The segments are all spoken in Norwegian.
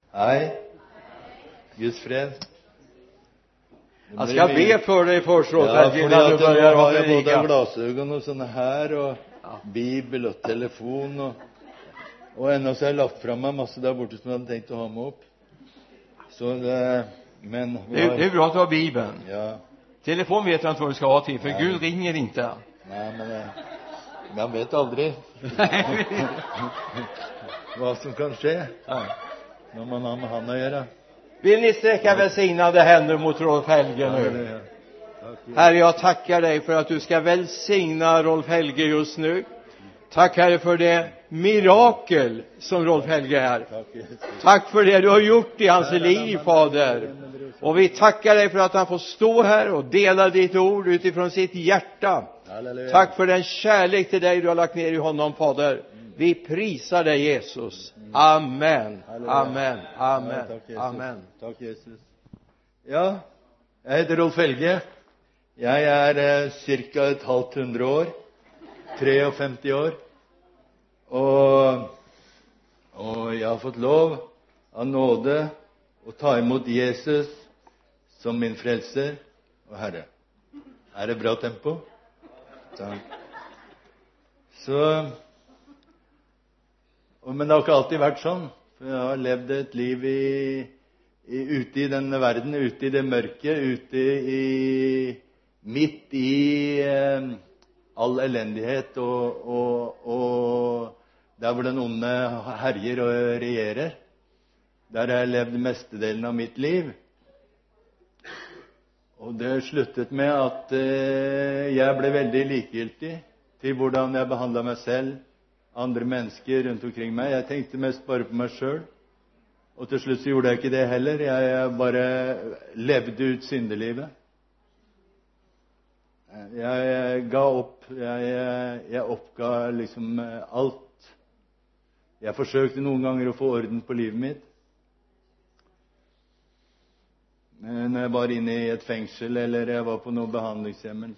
Hej. Guds fred. Jag ska be för dig först, Ja, innan du börjar ha både predika. glasögon och såna här och bibel och telefon och ännu så har jag lagt fram mig masse där borta som jag hade tänkt att ha med upp. Så det, men det är bra att du har bibeln. Ja. Telefon vet jag inte vad du ska ha till, för Gud ringer inte. Nej, men man vet aldrig vad som kan ske när man har med han att göra. Vill ni sträcka välsignade händer mot Rolf Helge nu? Herre, jag tackar dig för att du ska välsigna Rolf Helge just nu. Tack Herre för det mirakel som Rolf Helge är. Tack för det du har gjort i hans liv, Fader. Och vi tackar dig för att han får stå här och dela ditt ord utifrån sitt hjärta. Tack för den kärlek till dig du har lagt ner i honom, Fader. Vi prisar dig, Jesus. Amen. Amen. Amen. Amen. Tack Jesus. Ja, jag heter Rolf Helge. Jag är cirka ett halvt 100 år. 53 år. Och jag har fått lov av nåde att ta emot Jesus som min frälser och Herre. Är det bra tempo? Tack. Så men det har ikke alltid vært sånn. For jeg har levd et liv ute i denne verden, ute i det mørke, midt i all elendighet og der hvor den onde herjer og regjerer. Der har jeg levd mestedelen av mitt liv. Og det sluttet med at jeg ble veldig likegyldig til hvordan jeg behandlet meg selv, andre mennesker rundt omkring meg. Jeg tenkte mest bare på meg selv. Og til slutt så gjorde jeg ikke det heller. Jeg bare levde ut syndelivet. Jeg ga opp. Jeg oppga liksom alt. Jeg forsøkte noen ganger å få orden på livet mitt. Når jeg var inne i et fengsel, eller jeg var på noen behandlingshjem,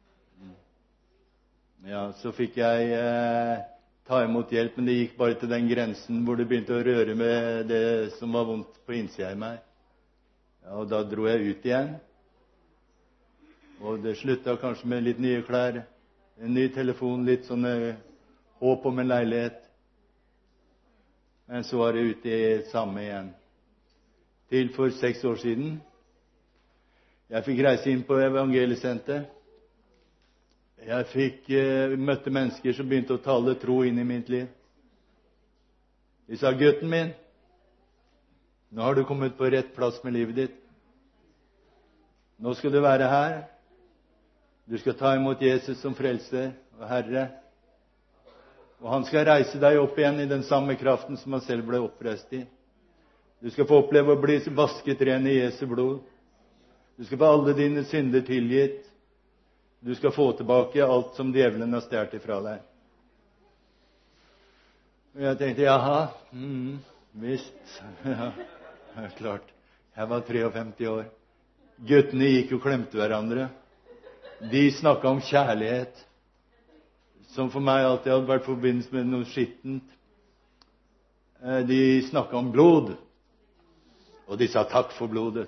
så fikk jeg ta imot hjelp, men det gikk bare til den grensen hvor det begynte å røre med det som var vondt på innsiden i meg. Ja, og da dro jeg ut igjen. Og det sluttet kanskje med litt nye klær, en ny telefon, litt sånne håp om en leilighet. Men så var det ute i samme igjen. Til for 6 år siden. Jeg fikk reise inn på Evangeliesenter. Jeg møtte mennesker som begynte å tale tro inn i mitt liv. De sa, gutten min, nå har du kommet på rett plass med livet ditt. Nå skal du være her. Du skal ta imot Jesus som frelser og Herre. Og han skal reise deg opp igjen i den samme kraften som han selv ble oppreist i. Du skal få oppleve å bli vasket ren i Jesu blod. Du skal få alle dine synder tilgitt. Du skal få tilbake alt som djevelen har stjert ifra deg. Og jeg tenkte, jaha, visst. Ja, klart. Jeg var 53 år. Guttene gikk og klemte hverandre. De snakket om kjærlighet, som for meg alltid hadde vært forbindet med noe skittent. De snakket om blod, og de sa takk for blodet.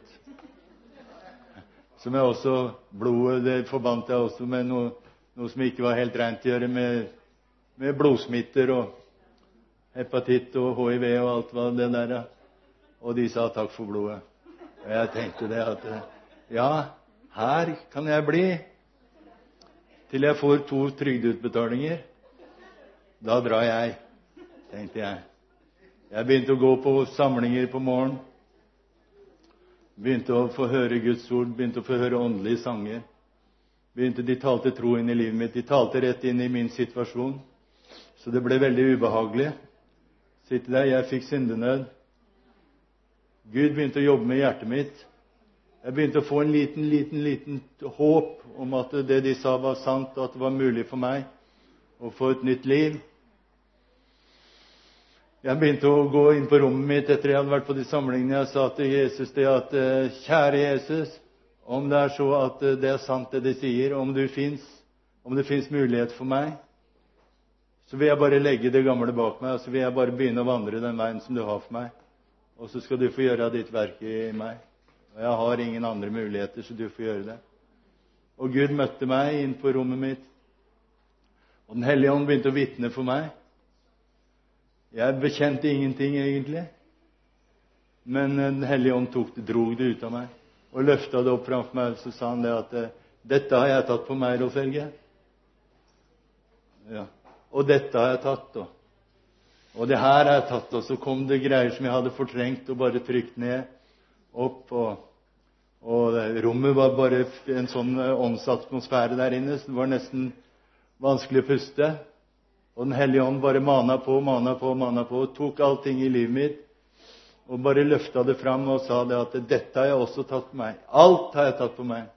Som jeg også, blodet, det forbandt jeg også med noe som ikke var helt rent å gjøre med blodsmitter og hepatitt og HIV og alt hva det der. Og de sa takk for blodet. Og jeg tenkte det at, ja, her kan jeg bli til jeg får 2 trygdeutbetalinger. Da drar jeg, tenkte jeg. Jeg begynte å gå på samlinger på morgen. Begynte å få høre Guds ord, begynte å få høre åndelige sanger. De talte tro inn i livet mitt, de talte rett inn i min situasjon. Så det ble veldig ubehagelig. Sitte der, jeg fikk syndenød. Gud begynte å jobbe med hjertet mitt. Jeg begynte å få en liten håp om at det de sa var sant, og at det var mulig for meg å få et nytt liv. Jeg begynte å gå inn på rommet mitt etter jeg hadde vært på de samlingene. Jeg sa til Jesus det at, kjære Jesus, om det er så at det er sant det de sier, om det finnes mulighet for meg, så vil jeg bare legge det gamle bak meg, og så vil jeg bare begynne å vandre den veien som du har for meg. og så skal du få gjøre ditt verk i meg. Og jeg har ingen andre muligheter, så du får gjøre det. Og Gud møtte meg inn på rommet mitt, og Den hellige ånd begynte å vitne for meg. Jeg bekjente ingenting egentlig, men Den hellige ånd drog det ut av meg, og løftet det opp framfor meg, og så sa han det at dette har jeg tatt på meg, Rolf Helge. Ja. Og dette har jeg tatt, og det her har jeg tatt, og så kom det greier som jeg hadde fortrengt og bare trykt ned, opp, og rommet var bare en sånn åndsatmosfære der inne, så det var nesten vanskelig å puste. Og Den hellige ånd bare mana på, og tok allting i livet mitt, og bare løftet det fram og sa det at dette har jeg også tatt på meg. Alt har jeg tatt på meg.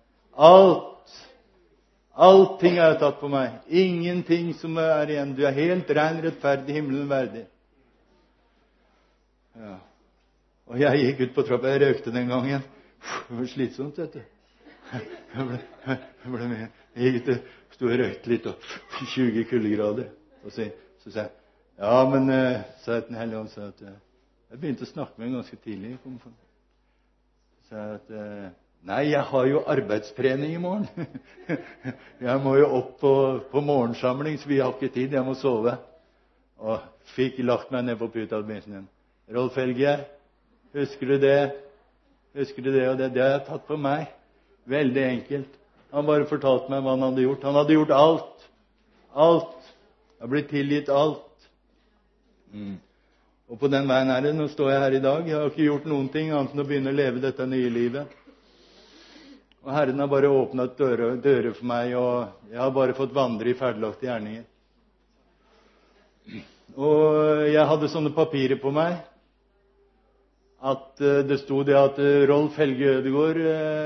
Allting har jeg tatt på meg. Ingenting som er igjen. Du er helt ren, rettferdig, himmelen verdig. Ja. Og jeg gikk ut på trappa. Jeg røkte den gangen. Det var slitsomt, vet du. Jeg ble med. Jeg gikk ut, stod og røkte litt, og 20 kuldegrader. Og så sa jeg, ja, men sa jeg til Den hellige ånd, sa at jeg begynte å snakke med en ganske tidlig. Så sa jeg at nei, jeg har jo arbeidstrening i morgen. Jeg må jo opp på morgensamling, så vi har ikke tid, jeg må sove. Og fikk lagt meg ned på puta og begynte igjen. Rolf Helge, husker du det? Husker du det og det? Det har jeg tatt på meg. Veldig enkelt. Han bare fortalte meg hva han hadde gjort. Han hadde gjort alt. Alt. Jeg har blitt tilgitt alt. Og på den veien her, nå står jeg her i dag. Jeg har ikke gjort noen ting annet enn å begynne å leve dette nye livet. Og Herren har bare åpnet dører for meg, og jeg har bare fått vandre i ferdelagte gjerninger. Og jeg hadde sånne papirer på meg, at det stod det at Rolf Helge Ødegård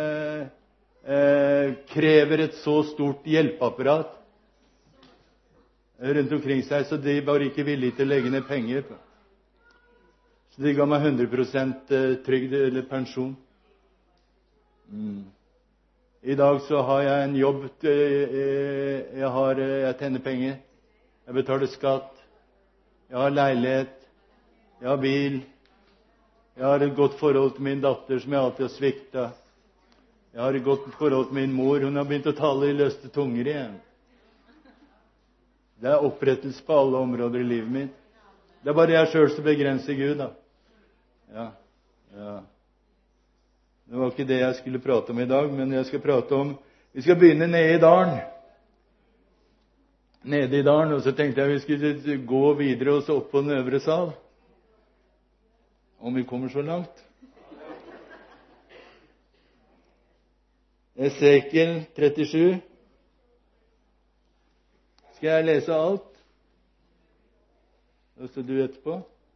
krever et så stort hjelpeapparat rundt omkring seg, så de var ikke villige til å legge ned penger. Så de ga meg 100% trygd eller pensjon. I dag så har jeg en jobb, jeg tjener penger, jeg betaler skatt, jeg har leilighet, jeg har bil, jeg har et godt forhold til min datter som jeg alltid har sviktet. Jeg har et godt forhold til min mor, hun har begynt å tale i løste tunger igjen. Det er opprettelse på alle områder i livet mitt. Det er bare jeg selv som begrenser Gud, da. Ja. Det var ikke det jeg skulle prate om i dag, men jeg skal prate om, vi skal begynne nede i dalen. Nede i dalen, og så tenkte jeg vi skulle gå videre og så opp på den øvre sal. Om vi kommer så langt. Esekiel 37. Skal jeg lese alt? Og så du etterpå.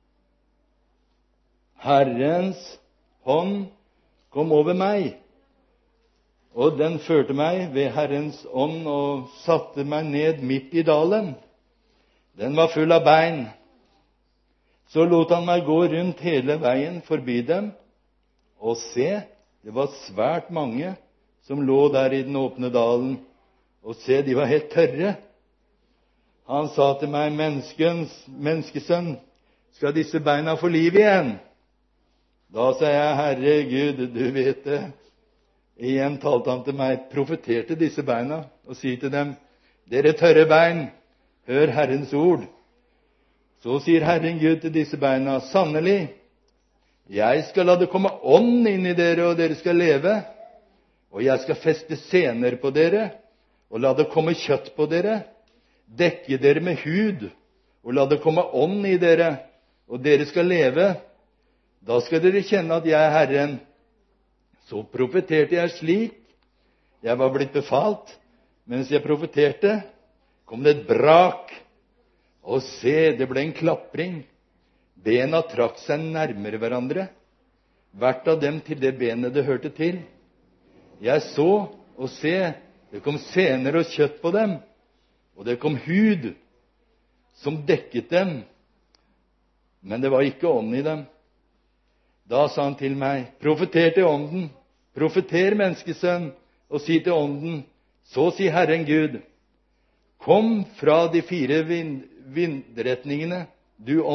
Herrens hånd kom over meg, og den førte meg ved Herrens ånd og satte meg ned midt i dalen. Den var full av bein. Så lot han meg gå rundt hele veien forbi dem, og se, det var svært mange som lå der i den åpne dalen, og se, de var helt tørre. Han sa til meg, menneskesønn, skal disse beina få liv igjen? Da sa jeg, Herre Gud, du vet det. Igjen talte han til meg, profeterte disse beina, og si til dem, dere tørre bein, hør Herrens ord. Så sier Herren Gud til disse beina, sannelig, jeg skal la det komme ånd inn i dere, og dere skal leve. Og jeg skal feste sener på dere, og la det komme kjøtt på dere. Dekke dere med hud, og la det komme ånd i dere, og dere skal leve. Da skal dere kjenne at jeg er Herren. Så profeterte jeg slik. Jeg var blitt befalt. Mens jeg profeterte, kom det et brak. Og se, det ble en klapring. Bena trakk seg nærmere hverandre, hvert av dem til det benet det hørte til. Jeg så, og se, det kom sener og kjøtt på dem, og det kom hud som dekket dem, men det var ikke ånd i dem. Da sa han til meg, profeter til ånden, profeter menneskesønn, og si til ånden, så sier Herren Gud, kom fra de 4 vindretningene, du ånd,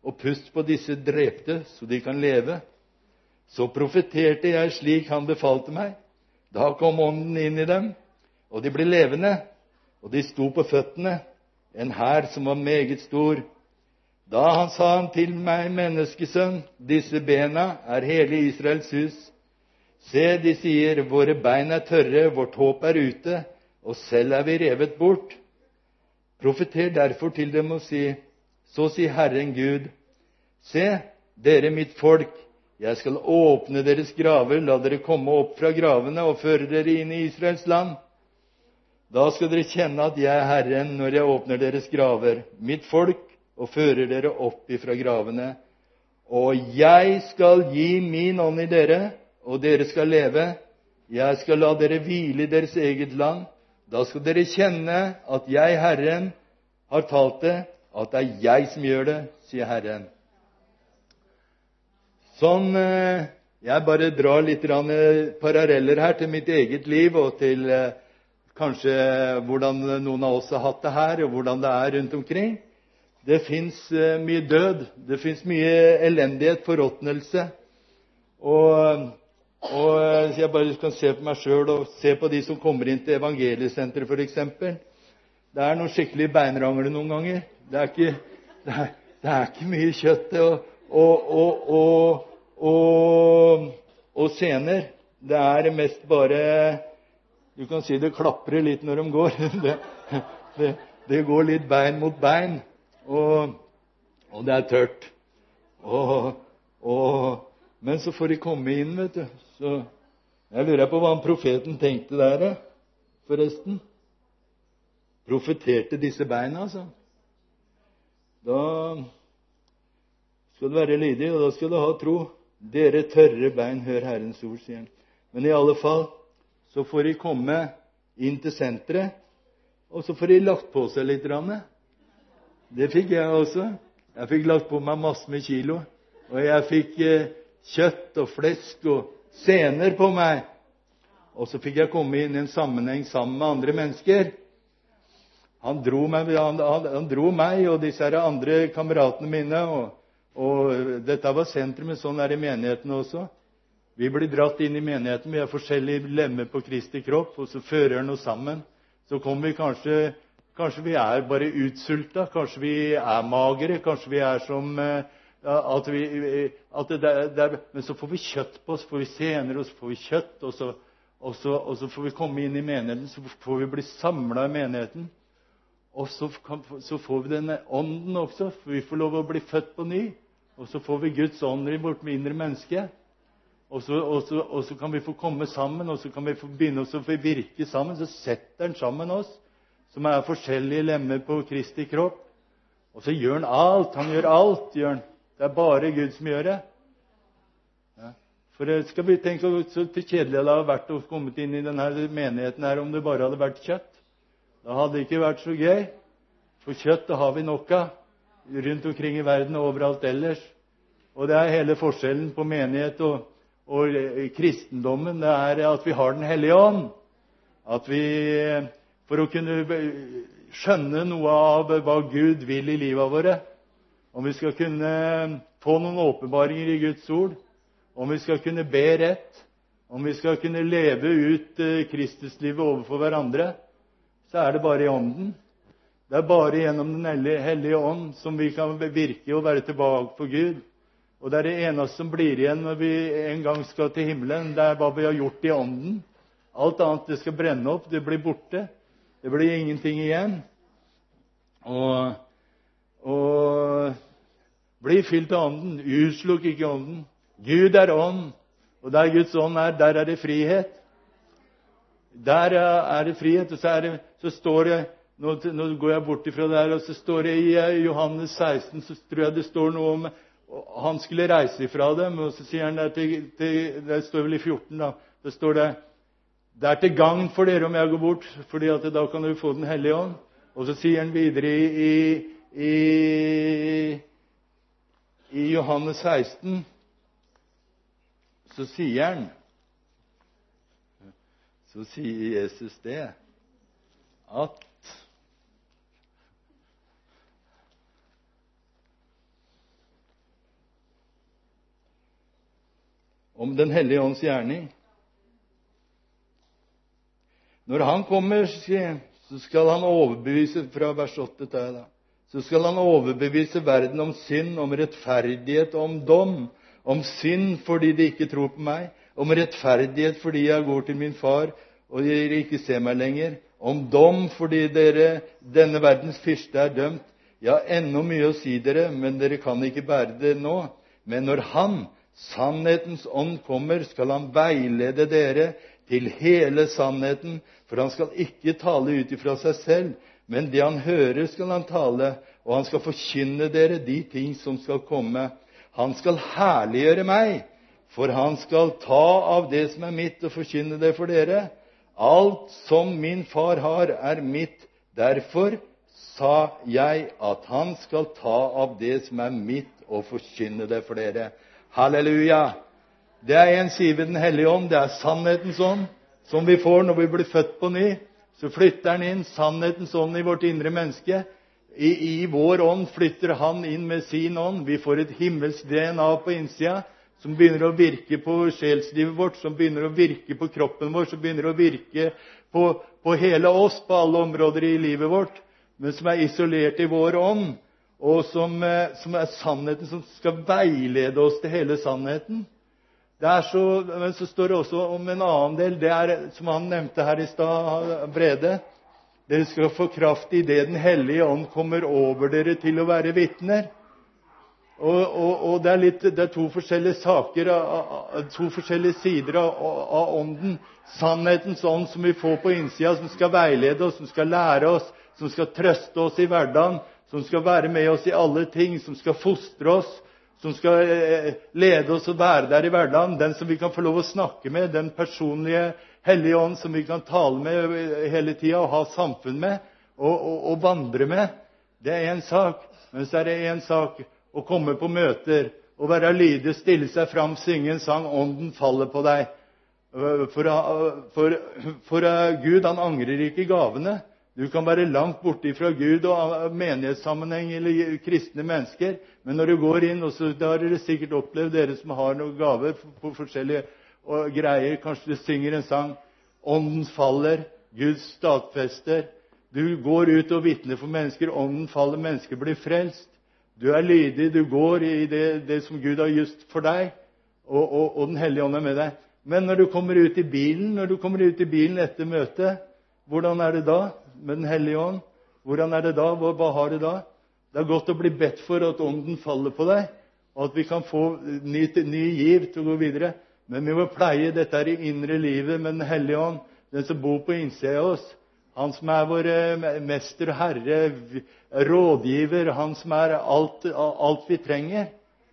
og pust på disse drepte, så de kan leve. Så profeterte jeg slik han befalte meg. Da kom ånden inn i dem, og de ble levende, og de sto på føttene, en hær som var meget stor. Da sa han til meg, menneskesønn, disse bena er hele Israels hus. Se, de sier, våre bein er tørre, vårt håp er ute, og selv er vi revet bort. Profeter derfor til dem og si, så sier Herren Gud, se, dere mitt folk, jeg skal åpne deres graver, la dere komme opp fra gravene og føre dere inn i Israels land. Da skal dere kjenne at jeg er Herren når jeg åpner deres graver, mitt folk, og fører dere opp ifra gravene. Og jeg skal gi min ånd i dere, og dere skal leve. Jeg skal la dere hvile i deres eget land. Da skal dere kjenne at jeg, Herren, har talt det, at det er jeg som gjør det, sier Herren. Sånn, jeg bare drar litt paralleller her til mitt eget liv, og til kanskje hvordan noen av oss har hatt det her, og hvordan det er rundt omkring. Det finnes mye død, det finnes mye elendighet, forråtnelse. Og jeg bare kan se på meg selv, og se på de som kommer inn til evangeliesenteret for eksempel. Det er noen skikkelig beinrangler noen ganger. Det er ikke mye kjøtt og scener. Det er mest bare, du kan si det klapper litt når de går. Det går litt bein mot bein, og det er tørt. Men så får de komme inn, vet du. Så jeg lurer på hva profeten tenkte der, forresten. Profeterte disse beina, altså. Da skal du være lydig, og da skal du ha tro. Dere tørre bein, hør Herrens ord, sier han. Men i alle fall, så får de komme inn til senteret, og så får de lagt på seg litt. Det fikk jeg også. Jeg fikk lagt på meg masse med kilo, og jeg fikk kjøtt og flesk og sener på meg. Og så fikk jeg komme inn i en sammenheng sammen med andre mennesker. Han dro meg og disse andre kameratene mine, og dette var sentrumet, sånn er det i menigheten også. Vi blir dratt inn i menigheten, vi er forskjellige lemmer på Kristi kropp, og så fører han oss sammen. Så kommer vi kanskje vi er bare utsulta, kanskje vi er magere, kanskje vi er som men så får vi kjøtt på oss, får vi sener, og så får vi kjøtt, og så får vi komme inn i menigheten, så får vi bli samlet i menigheten. Og så får vi denne ånden også, for vi får lov å bli født på ny. Og så får vi Guds ånd i vårt indre menneske. Og så kan vi få komme sammen, og så kan vi få begynne å virke sammen. Så setter han sammen oss, som er forskjellige lemmer på Kristi kropp. Og så gjør han alt. Han gjør alt, gjør han. Det er bare Gud som gjør det. Ja. For skal vi tenke så kjedelig det hadde vært å komme inn i denne menigheten her, om det bare hadde vært kjøtt. Da hadde det ikke vært så gøy. For kjøtt det har vi nok av rundt omkring i verden og overalt ellers. Og det er hele forskjellen på menighet og kristendommen. Det er at vi har Den hellige ånd. At vi, for å kunne skjønne noe av hva Gud vil i livet våre, om vi skal kunne få noen åpenbaringer i Guds ord, om vi skal kunne be rett, om vi skal kunne leve ut Kristuslivet overfor hverandre, så er det bare i ånden. Det er bare gjennom Den hellige ånd som vi kan virke og være tilbake for Gud. Og det er det eneste som blir igjen når vi en gang skal til himmelen. Det er hva vi har gjort i ånden. Alt annet det skal brenne opp, det blir borte. Det blir ingenting igjen. Og bli fylt av ånden. Utslukk ikke ånden. Gud er ånd. Og der Guds ånd er, der er det frihet. Der er det frihet. Og så står det, nå går jeg bort ifra det her, og så står det i Johannes 16, så tror jeg det står noe om han skulle reise ifra dem, og så sier han det står vel i 14 da, det står det er til gagn for dere om jeg går bort, fordi at da kan du få Den hellige ånd. Og så sier han videre i Johannes 16, så sier Jesus det, at om den hellige ånds gjerning. Når han kommer, så skal han overbevise, fra vers 8 til da, så skal han overbevise verden om synd, om rettferdighet og om dom. Om synd fordi de ikke tror på meg, om rettferdighet fordi jeg går til min far og dere ikke ser meg lenger, om dom fordi denne verdens fyrste er dømt. Jeg har ennå mye å si dere, men dere kan ikke bære det nå. Men når han, sannhetens ånd, kommer, skal han veilede dere til hele sannheten, for han skal ikke tale ut ifra seg selv, men det han hører skal han tale, og han skal forkynne dere de ting som skal komme. Han skal herliggjøre meg, for han skal ta av det som er mitt og forkynne det for dere. Alt som min far har, er mitt. Derfor sa jeg at han skal ta av det som er mitt og forkynne det for dere. Halleluja! Det er en side ved den hellige ånd, det er sannhetens ånd, som vi får når vi blir født på ny. Så flytter han inn sannhetens ånd i vårt indre menneske. I vår ånd flytter han inn med sin ånd. Vi får et himmelsk DNA på innsida, som begynner å virke på sjelslivet vårt, som begynner å virke på kroppen vår, som begynner å virke på hele oss, på alle områder i livet vårt, men som er isolert i vår ånd, og som er sannheten, som skal veilede oss til hele sannheten. Men så står det også om en annen del, det er, som han nevnte her i stad, Brede. Dere skal få kraft i det den hellige ånd kommer over dere til å være vitner. Og det er to forskjellige saker, to forskjellige sider av ånden. Sannhetens ånd som vi får på innsida, som skal veilede oss, som skal lære oss, som skal trøste oss i hverdagen, som skal være med oss i alle ting, som skal fostre oss, som skal lede oss og være der i hverdagen. Den som vi kan få lov å snakke med, den personlige hellige ånd som vi kan tale med hele tiden og ha samfunn med og vandre med. Det er en sak. Men så er det en sak å komme på møter og være lydig, stille seg fram, synge en sang, ånden faller på deg. For Gud, han angrer ikke gavene. Du kan være langt borte fra Gud og menighetssammenheng eller kristne mennesker, men når du går inn, og så har dere sikkert opplevd, dere som har noen gaver på forskjellige greier, kanskje du synger en sang, ånden faller, Gud stadfester, du går ut og vitner for mennesker, ånden faller, mennesker blir frelst, du er lydig, du går i det som Gud har just for deg, og den hellige ånd er med deg. Men når du kommer ut i bilen, etter møtet, hvordan er det da med den hellige ånd? Hvordan er det da? Hva har du da? Det er godt å bli bedt for at ånden faller på deg, og at vi kan få ny giv til å gå videre. Men vi må pleie dette her i indre livet med den hellige ånd, den som bor på innsida av oss. Han som er vår mester og herre, rådgiver, han som er alt vi trenger.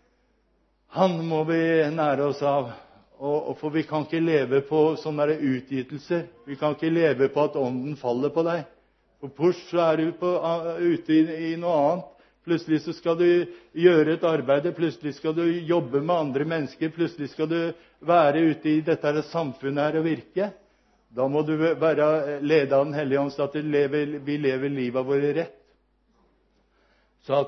Han må vi nære oss av. For vi kan ikke leve på sånne utgytelser. Vi kan ikke leve på at ånden faller på deg. For purs så er du ute i noe annet. Plutselig så skal du gjøre et arbeid, plutselig skal du jobbe med andre mennesker, plutselig skal du være ute i dette samfunnet her og virke. Da må du være ledet av den hellige ånd, så at vi lever livet vårt rett. Så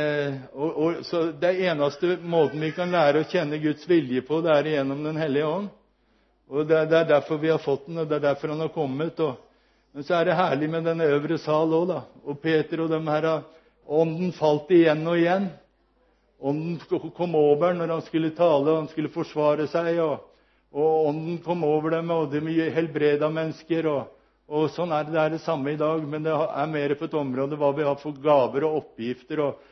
det eneste måten vi kan lære å kjenne Guds vilje på, det er gjennom den hellige ånd. Og det er derfor vi har fått den, og det er derfor han har kommet. Men så er det herlig med denne øvre sal også, da. Og Peter og dem her, ånden falt igjen og igjen. Ånden kom over når han skulle tale, og han skulle forsvare seg, og ånden kom over dem, og de helbreda mennesker, og sånn er det samme i dag, men det er mer på et område hva vi har for gaver og oppgifter, og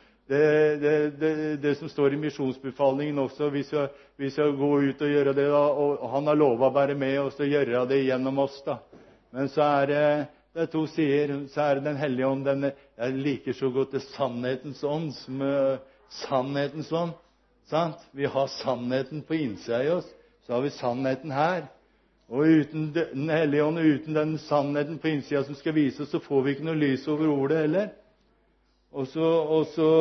det som står i misjonsbefalingen også, vi skal gå ut og gjøre det, da, og han har lovet å være med oss og gjøre det gjennom oss, da. Men så er det to sider, så er det den hellige ånd, jeg liker så godt det sannhetens ånd, som sannhetens ånd, sant? Vi har sannheten på innsida i oss, så har vi sannheten her. Og uten den hellige ånd, uten den sannheten på innsida som skal vise oss, så får vi ikke noe lys over ordet heller. Og så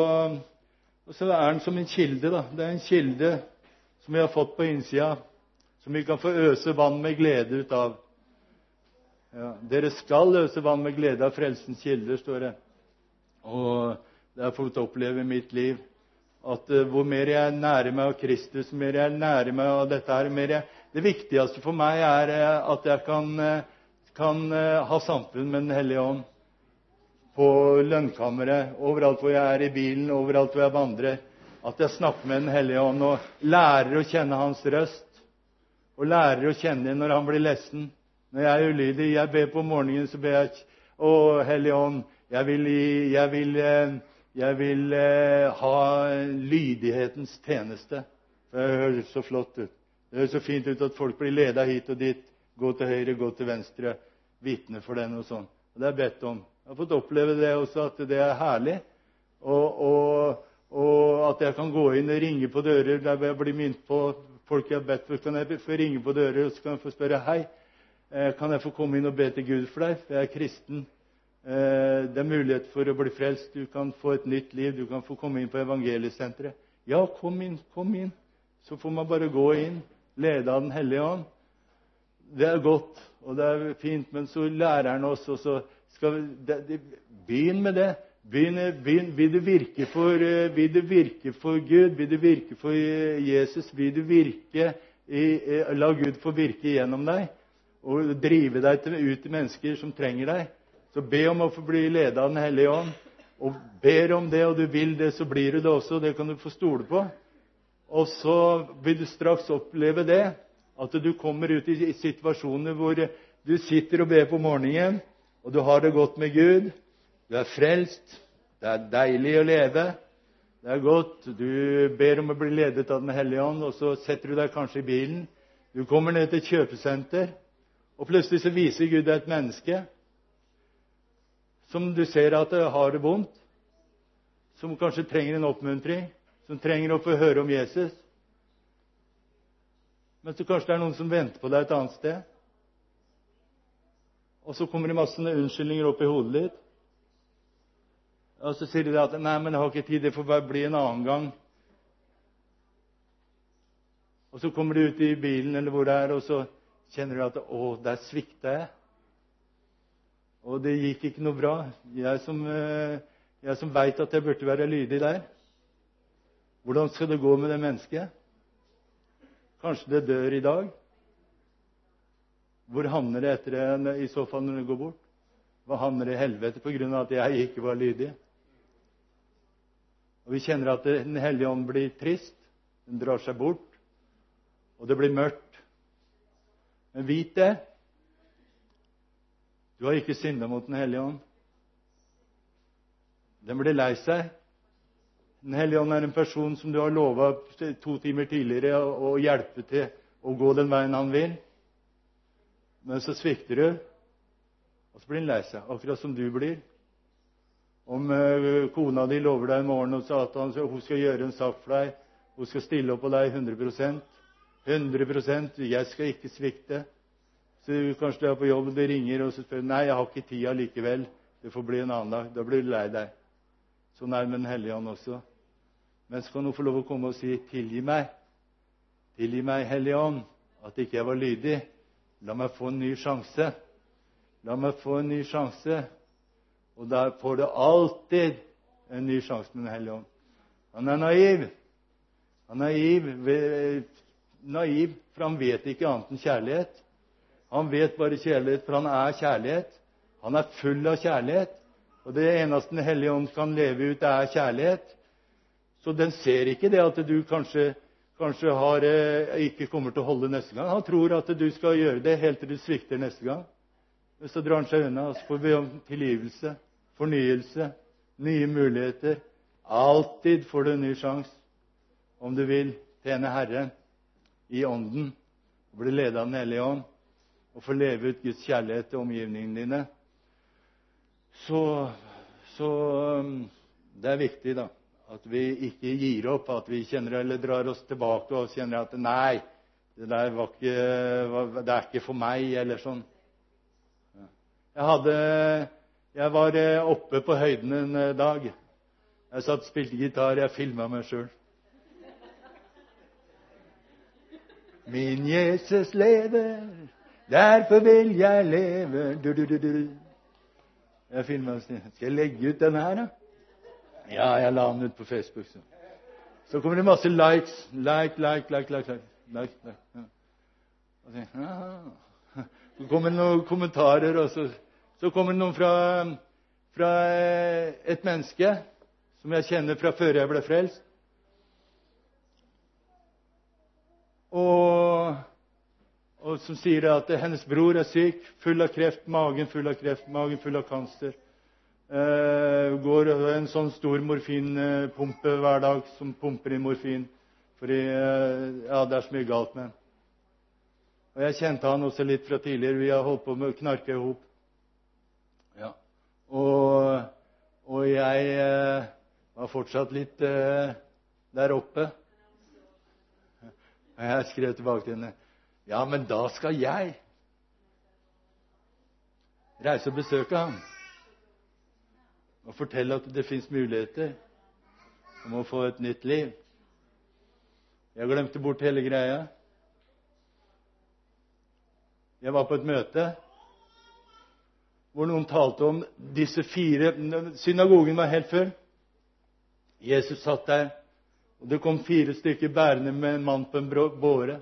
er den som en kilde, da. Det er en kilde som vi har fått på innsida, som vi kan få øse vann med glede ut av. Ja, dere skal øse vann med glede av frelsens kilder, står det. Og det har jeg fått oppleve i mitt liv. At hvor mer jeg nærer meg av Kristus, mer jeg nærer meg av dette her, det viktigste for meg at jeg kan ha samfunn med Den hellige ånd. På lønnkammeret, overalt hvor jeg i bilen, overalt hvor jeg vandrer. At jeg snakker med Den hellige ånd og lærer å kjenne hans røst. Og lærer å kjenne når han blir lessen. Når jeg er ulydig, jeg ber på morgenen, så ber jeg, å Hellige ånd, jeg vil ha lydighetens tjeneste. Det høres så flott ut. Det høres så fint ut at folk blir ledet hit og dit. Gå til høyre, gå til venstre. Vitne for den og sånn. Og det er bedt om. Jeg har fått oppleve det også, at det er herlig. Og at jeg kan gå inn og ringe på dører der jeg blir minnet på folk jeg har bedt for. Kan jeg få ringe på dører, og så kan jeg få spørre, hei, kan jeg få komme inn og be til Gud for deg? For jeg er kristen. Det er mulighet for å bli frelst. Du kan få et nytt liv. Du kan få komme inn på evangeliesenteret. Ja, kom inn. Så får man bare gå inn, lede av Den hellige ånd. Det er godt, og det er fint, men så lærer han oss, og så skal vi begynne med det. Vil du virke for Gud? Vil du virke for Jesus? Vil du la Gud få virke gjennom deg og drive deg ut til mennesker som trenger deg? Så be om å få bli ledet av Den hellige ånd. Og ber om det, og du vil det, så blir du det også. Det kan du få stole på. Og så vil du straks oppleve det, at du kommer ut i situasjoner hvor du sitter og ber på morgenen, og du har det godt med Gud. Du er frelst. Det er deilig å leve. Det er godt. Du ber om å bli ledet av Den hellige ånd, og så setter du deg kanskje i bilen. Du kommer ned til et kjøpesenter, og plutselig så viser Gud deg et menneske som du ser at det har det vondt, som kanskje trenger en oppmuntring, som trenger å få høre om Jesus. Men så kanskje det er noen som venter på deg et annet sted. Og så kommer det masse unnskyldninger opp i hodet ditt. Og så sier de at nei, men jeg har ikke tid, det får bare bli en annen gang. Og så kommer du ut i bilen eller hvor det er, og så kjenner du at der sviktet jeg. Og det gikk ikke noe bra. Jeg som vet at jeg burde være lydig der. Hvordan skal det gå med det mennesket? Kanskje det dør i dag? Hvor havner det etter det i så fall når det går bort? Hva havner det i helvete på grunn av at jeg ikke var lydig? Og vi kjenner at Den hellige ånd blir trist. Den drar seg bort. Og det blir mørkt. Men vit det. Du har ikke syndet mot Den hellige ånd. Den blir lei seg. Den hellige ånd er en person som du har lovet 2 timer tidligere å hjelpe til å gå den veien han vil. Men så svikter du, og så blir han lei seg, akkurat som du blir. Om kona di lover deg i morgen og sa at hun skal gjøre en sak for deg, hun skal stille opp på deg 100%, 100%, jeg skal ikke svikte. Så kanskje du er på jobb, og du ringer, og så spør du, nei, jeg har ikke tida likevel. Det får bli en annen dag. Da blir du lei deg. Sånn er det med Den hellige ånd også. Men så kan du få lov å komme og si, tilgi meg, Hellige ånd, at ikke jeg var lydig. La meg få en ny sjanse. La meg få en ny sjanse. Og der får du alltid en ny sjanse med Den hellige ånd. Han er naiv. Han er naiv, for han vet ikke annet enn kjærlighet. Han vet bare kjærlighet, for han er kjærlighet. Han er full av kjærlighet. Og det eneste Den hellige ånd kan leve ut, det er kjærlighet. Så den ser ikke det at du kanskje ikke kommer til å holde neste gang. Han tror at du skal gjøre det helt til du svikter neste gang. Men så drar han seg unna, og så får vi om tilgivelse, fornyelse, nye muligheter. Alltid får du en ny sjanse, om du vil tjene Herren i ånden, og bli ledet av Den hellige ånd, og få leve ut Guds kjærlighet til omgivningene dine. Så det er viktig da, at vi ikke gir opp, at vi kjenner eller drar oss tilbake og kjenner at nei, det der det er ikke for meg, eller sånn. Jeg var oppe på høyden en dag. Jeg satt og spilte gitar, jeg filmet meg selv. Min Jesus lever, derfor vil jeg leve. Jeg filmet meg. Skal jeg legge ut denne her da? Ja, jeg la den ut på Facebook. Så kommer det masse likes. Like. Ja. Og så kommer det noen kommentarer, og så kommer det noen fra et menneske som jeg kjenner fra før jeg ble frelst. Og som sier at hennes bror er syk, full av kreft, magen full av kanser. Går en sånn stor morfinpumpe hver dag som pumper inn morfin, fordi det er så mye galt med den. Og jeg kjente han også litt fra tidligere. Vi har holdt på med å knarke ihop. Ja. Og jeg var fortsatt litt der oppe. Og jeg skrev tilbake til henne: ja, men da skal jeg reise og besøke ham og fortelle at det finnes muligheter om å få et nytt liv. Jeg glemte bort hele greia. Jeg var på et møte hvor noen talte om disse 4. Synagogen var helt full. Jesus satt der, og det kom 4 stykker bærende med en mann på en båre.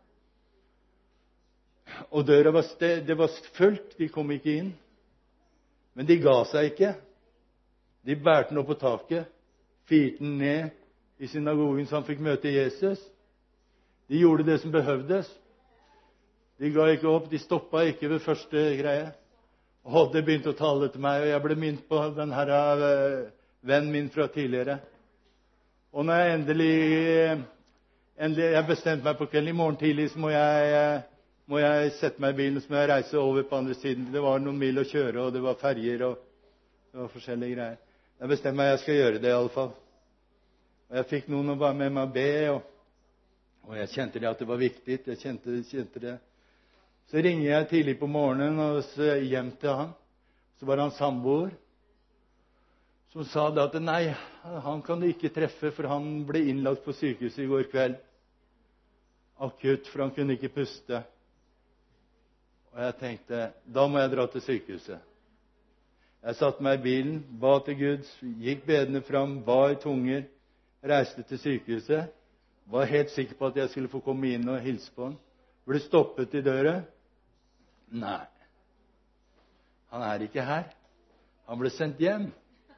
Og døra det var fullt, de kom ikke inn. Men de ga seg ikke. De bærte den opp på taket, firte den ned i synagogen så han fikk møte Jesus. De gjorde det som behøvdes. De ga ikke opp, de stoppet ikke ved første greie. Og det begynte å tale til meg, og jeg ble minnet på den her vennen min fra tidligere. Og når jeg endelig jeg bestemte meg på kvelden, i morgen tidlig så må jeg sette meg i bilen, så må jeg reise over på andre siden. Det var noen mil å kjøre, og det var ferger, og det var forskjellige greier. Jeg bestemte meg, jeg skal gjøre det i alle fall. Og jeg fikk noen å være med meg og be, og jeg kjente det at det var viktig. Jeg kjente det. Så ringer jeg tidlig på morgenen og så hjem til han. Så var han samboer som sa da at nei, han kan du ikke treffe, for han ble innlagt på sykehuset i går kveld. Akutt, for han kunne ikke puste. Og jeg tenkte, da må jeg dra til sykehuset. Jeg satte meg i bilen, ba til Gud, gikk bedende fram, ba i tunger, reiste til sykehuset. Var helt sikker på at jeg skulle få komme inn og hilse på han. Ble stoppet i døra. Nei, han er ikke her. Han ble sendt hjem.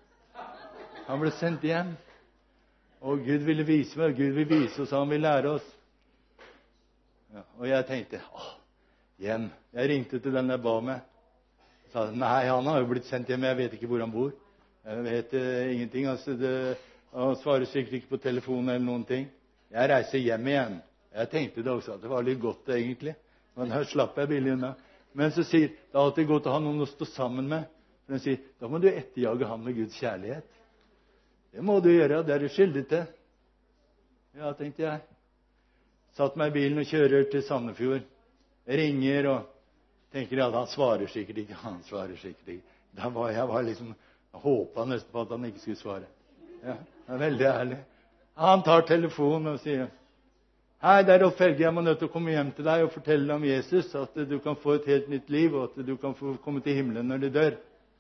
Og Gud ville vise meg, Gud vil vise oss, han vil lære oss. Ja, og jeg tenkte, hjem. Jeg ringte til den jeg ba med. Jeg sa, nei, han har jo blitt sendt hjem, jeg vet ikke hvor han bor. Jeg vet ingenting. Han svarer sikkert ikke på telefonen eller noen ting. Jeg reiser hjem igjen. Jeg tenkte det også, at det var litt godt egentlig. Men her slapp jeg billig unna. Men så sier, det er alltid godt å ha noen å stå sammen med. For den sier, da må du etterjage ham med Guds kjærlighet. Det må du gjøre, det er du skyldig til. Ja, tenkte jeg. Satt meg i bilen og kjører til Sandefjord. Jeg ringer og tenker at han svarer sikkert ikke. Jeg var liksom, jeg håpet nesten på at han ikke skulle svare. Ja, det er veldig ærlig. Han tar telefonen og sier, hei, det er Rolf Helge, jeg må nødt til å komme hjem til deg og fortelle deg om Jesus, at du kan få et helt nytt liv, og at du kan få komme til himmelen når du dør.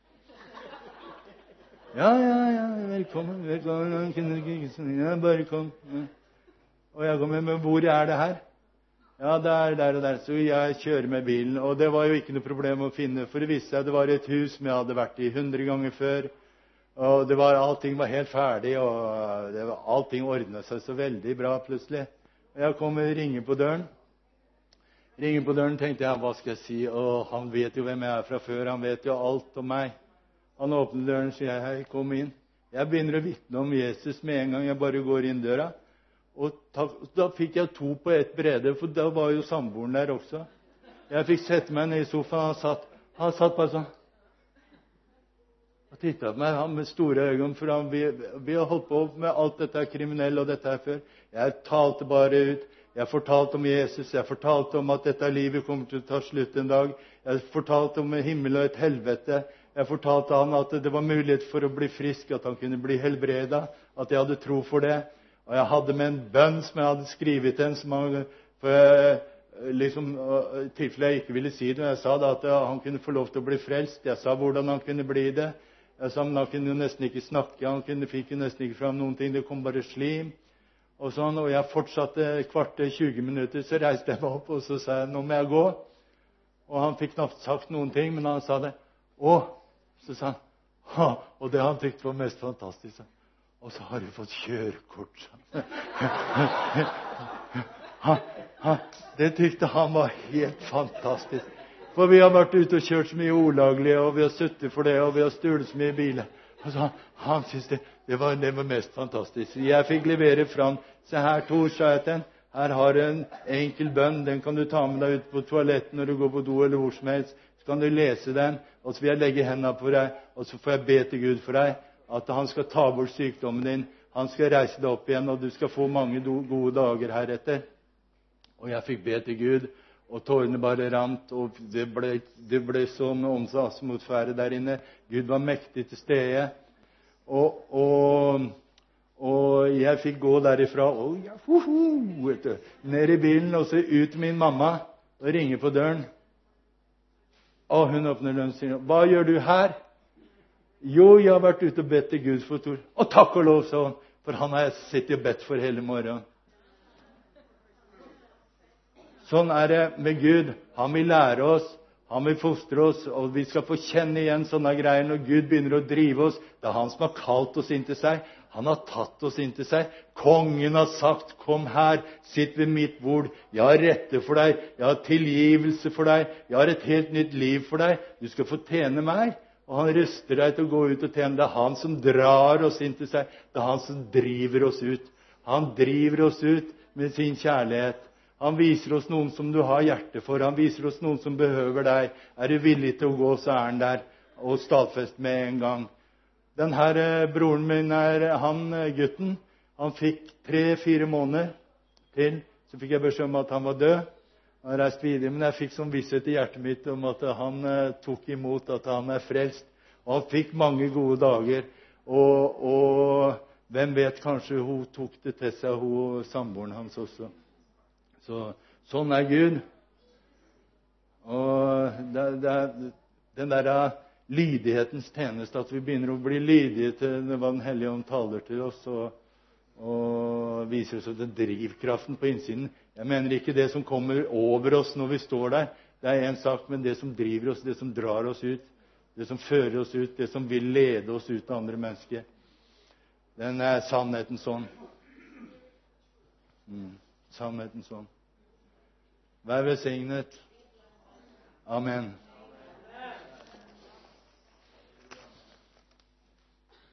Ja, velkommen. Ja, bare kom. Ja. Og jeg kommer med, hvor er det her? Ja, det er der og der. Så jeg kjører med bilen, og det var jo ikke noe problem å finne, for det viste seg at det var et hus som jeg hadde vært i 100 ganger før, og allting var helt ferdig, og allting ordnet seg så veldig bra plutselig. Og jeg kommer og ringer på døren. Tenkte jeg, hva skal jeg si? Og han vet jo hvem jeg er fra før, han vet jo alt om meg. Han åpner døren og sier, hei, kom inn. Jeg begynner å vitne om Jesus med en gang jeg bare går inn døra. Og da fikk jeg 2 på ett brede, for da var jo samboeren der også. Jeg fikk sette meg ned i sofaen, han satt bare sånn. Og tittet på meg, han med store øyne, for vi har holdt på med alt dette kriminelle og dette her før. Jeg talte bare ut. Jeg fortalte om Jesus. Jeg fortalte om at dette livet kommer til å ta slutt en dag. Jeg fortalte om himmel og et helvete. Jeg fortalte han at det var mulighet for å bli frisk, at han kunne bli helbredet, at jeg hadde tro for det. Og jeg hadde med en bønn som jeg hadde skrivet til en, i tilfelle jeg ikke ville si det. Jeg sa da at han kunne få lov til å bli frelst. Jeg sa hvordan han kunne bli det. Jeg sa, men han kunne jo nesten ikke snakke, fikk jo nesten ikke fram noen ting, det kom bare slim. og sånn, og jeg fortsatte kvarter, 20 minutter, så reiste jeg meg opp, og så sa jeg, nå må jeg gå. Og han fikk knapt sagt noen ting, men han sa det. Så sa han, ha, og det han tykte var mest fantastisk. Og så har du fått kjørekort. Det tykte han var helt fantastisk. For vi har vært ute og kjørt så mye olaglig, og vi har suttet for det, og vi har stulet så mye biler. Og så han synes det var mest fantastisk. Jeg fikk levere fram. Se her, Tor, sa jeg til den. Her har du en enkel bønn. Den kan du ta med deg ut på toaletten når du går på do eller hvor som helst. Så kan du lese den, og så vil jeg legge hendene på deg, og så får jeg be til Gud for deg, at han skal ta bort sykdommen din. Han skal reise deg opp igjen, og du skal få mange gode dager heretter. Og jeg fikk be til Gud, og tårene bare rant, og det ble sånn åndsatmosfære der inne. Gud var mektig til stede. Og jeg fikk gå derifra, ned i bilen, og så ut til min mamma, og ringe på døren. Og hun åpner døren og sier, hva gjør du her? Jo, jeg har vært ute og bedt til Gud for Tor. Og takk og lov, sa hun, for han har jeg sittet og bedt for hele morgenen. Sånn er det med Gud. Han vil lære oss, han vil fostre oss, og vi skal få kjenne igjen sånne greier når Gud begynner å drive oss. Det er han som har kalt oss inn til seg. Han har tatt oss inn til seg. Kongen har sagt, kom her, sitt ved mitt bord. Jeg har rette for deg, jeg har tilgivelse for deg, jeg har et helt nytt liv for deg. Du skal få tjene meg. Og han ruster deg til å gå ut og tjene. Det er han som drar oss inn til seg. Det er han som driver oss ut. Han driver oss ut med sin kjærlighet. Han viser oss noen som du har hjerte for. Han viser oss noen som behøver deg. Er du villig til å gå, så er han der. Og stadfest med en gang. Denne broren min, gutten, han fikk 3-4 måneder til. Så fikk jeg beskjed om at han var død. Han reiste videre, men jeg fikk sånn visshet i hjertet mitt om at han tok imot, at han er frelst. Og han fikk mange gode dager. Og hvem vet, kanskje hun tok det til seg, hun samboeren hans også. Sånn er Gud. Og den der lydighetens tjeneste, at vi begynner å bli lydige til hva Den hellige ånd taler til oss, og viser oss den drivkraften på innsiden. Jeg mener ikke det som kommer over oss når vi står der. Det er en sak, men det som driver oss, det som drar oss ut, det som fører oss ut, det som vil lede oss ut til andre mennesker. Den er sannheten sånn. Sannheten sånn. Vær velsignet. Amen.